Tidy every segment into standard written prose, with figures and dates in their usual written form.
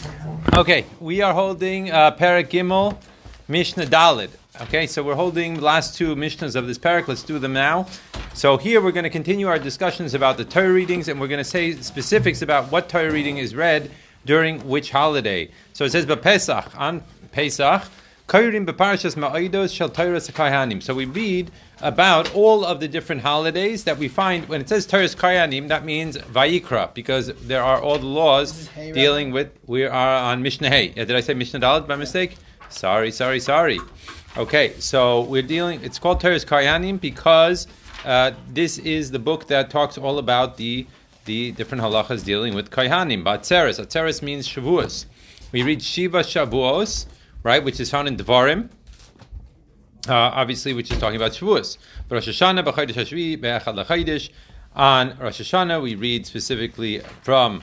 Okay, we are holding Perek Gimel, Mishnah Daled. Okay, so we're holding the last two Mishnahs of this Perek. Let's do them now. So here we're going to continue our discussions about the Torah readings, and we're going to say specifics about what Torah reading is read during which holiday. So it says, B'Pesach, on Pesach, Kairim B'Parashas Ma'odos Shel Torah Kahanim. So we read about all of the different holidays that we find. When it says Torah Kahanim, that means Vayikra, because there are all the laws dealing with, we are on Mishnah Hay. Did I say Mishnah Dalet by mistake? Sorry. Okay, so we're dealing, it's called Torah Kahanim because this is the book that talks all about the different halachas dealing with Kahanim. Atzeres. Atzeres means Shavuos. We read Shiva Shavuos, right, which is found in Devarim, obviously, which is talking about Shavuos. But Rosh Hashanah, B'Chodesh HaShvi, Be'echad LaChodesh. On Rosh Hashanah, we read specifically from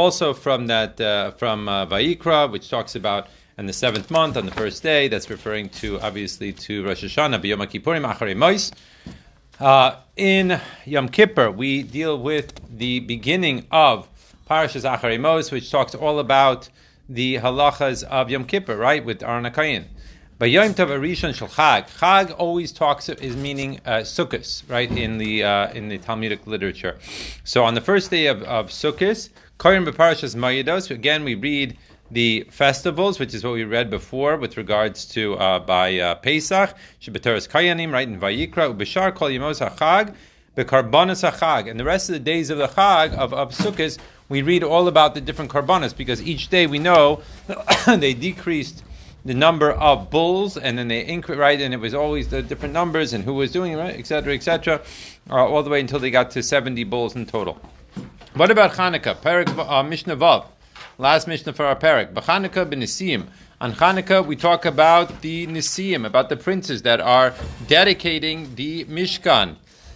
Vayikra, which talks about in the 7th month, on the first day. That's referring to, obviously, to Rosh Hashanah, B'Yom HaKippurim, Acharei Mos. In Yom Kippur, we deal with the beginning of Parashas Acharei Mos, which talks all about the halachas of Yom Kippur, right, with Aron HaKohen. But Yom Tov Arishon Shel Chag. Chag always is meaning Sukkos, right, in the Talmudic literature. So on the first day of Sukkos, Korim B'Parashas Ma'odos, again we read the festivals, which is what we read before with regards to by Pesach, Shebetoras Kayanim, right, in Vayikra, Ubeshar Kol Yemos HaChag, Bekarbanos HaChag, and the rest of the days of the Chag of Sukkos, we read all about the different karbanos, because each day we know they decreased the number of bulls, and then they increased, right, and it was always the different numbers and who was doing it, right, etc., all the way until they got to 70 bulls in total. What about Chanukah? Perek Mishnah Vav, last Mishnah for our Perek. B'Chanukah b'Nisim. On Chanukah, we talk about the Nisim, about the princes that are dedicating the Mishkan,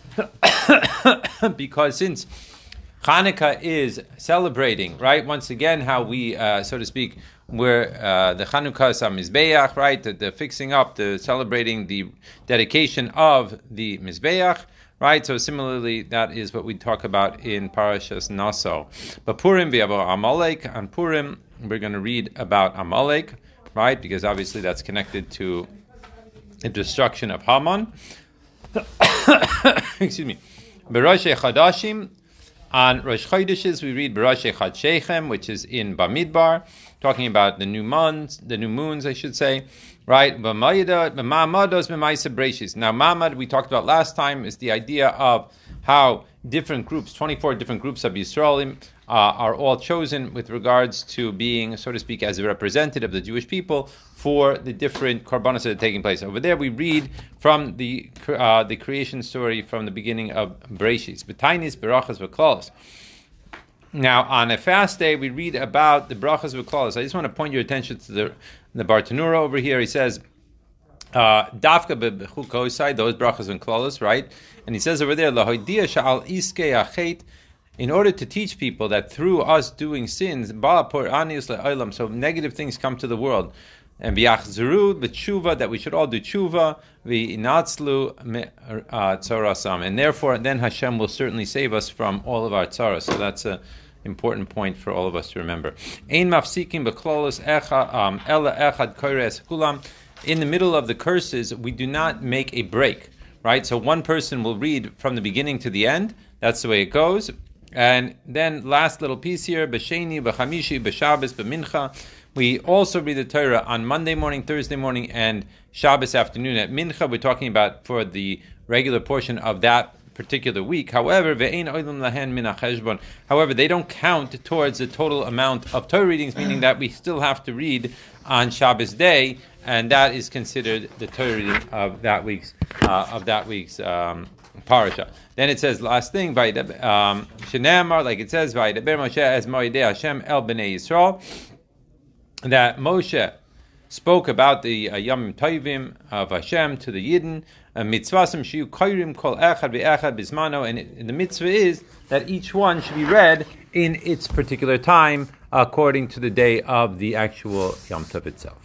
because since Chanukah is celebrating, right, once again, how we, so to speak, where the Chanukah Mizbeach, right, the fixing up, the celebrating the dedication of the Mizbeach, right? So similarly, that is what we talk about in Parashas Naso. But Purim, we have Amalek. On Purim, we're going to read about Amalek, right, because obviously that's connected to the destruction of Haman. Excuse me. B'Rosh Chadashim. On Rosh Chodeshes, we read B'Rosh Chad Shechem, which is in Bamidbar, talking about the new moons, I should say, right? Now, Ma'amad, we talked about last time, is the idea of how different groups, 24 different groups of Yisraelim, are all chosen with regards to being, so to speak, as a representative of the Jewish people for the different korbanos that are taking place. Over there, we read from the creation story from the beginning of Bereshis. B'tainis, berachas, v'klalos. Now, on a fast day, we read about the brachas v'klalos. I just want to point your attention to the Bartanura over here. He says, Dafka b'chukosai, those brachas and klalos, right? And he says over there, Lahoidia sha'al iskei achet, in order to teach people that through us doing sins, so negative things come to the world. And v'yachzuru b'tshuva, that we should all do tshuva, v'inatzlu tzorasam, and therefore then Hashem will certainly save us from all of our tzaras. So that's an important point for all of us to remember. Ein mafsikim b'klolos ela echad koires kulam. In the middle of the curses, we do not make a break, right? So one person will read from the beginning to the end. That's the way it goes. And then last little piece here, b'sheni, b'chamishi, b'shabbos, b'mincha. We also read the Torah on Monday morning, Thursday morning, and Shabbos afternoon. At mincha, we're talking about for the regular portion of that particular week. However, they don't count towards the total amount of Torah readings, meaning that we still have to read on Shabbos day, and that is considered the Torah reading of that week's parasha. Then it says, last thing, Shenamar, like it says, Vaydaber Moshe as Moedei Hashem el Bnei Yisrael, that Moshe spoke about the Yom Tovim of Hashem to the Yidden, mitzvasim shiyu koirim kol echad ve'echad bismano, and the mitzvah is that each one should be read in its particular time according to the day of the actual Yom Tov itself.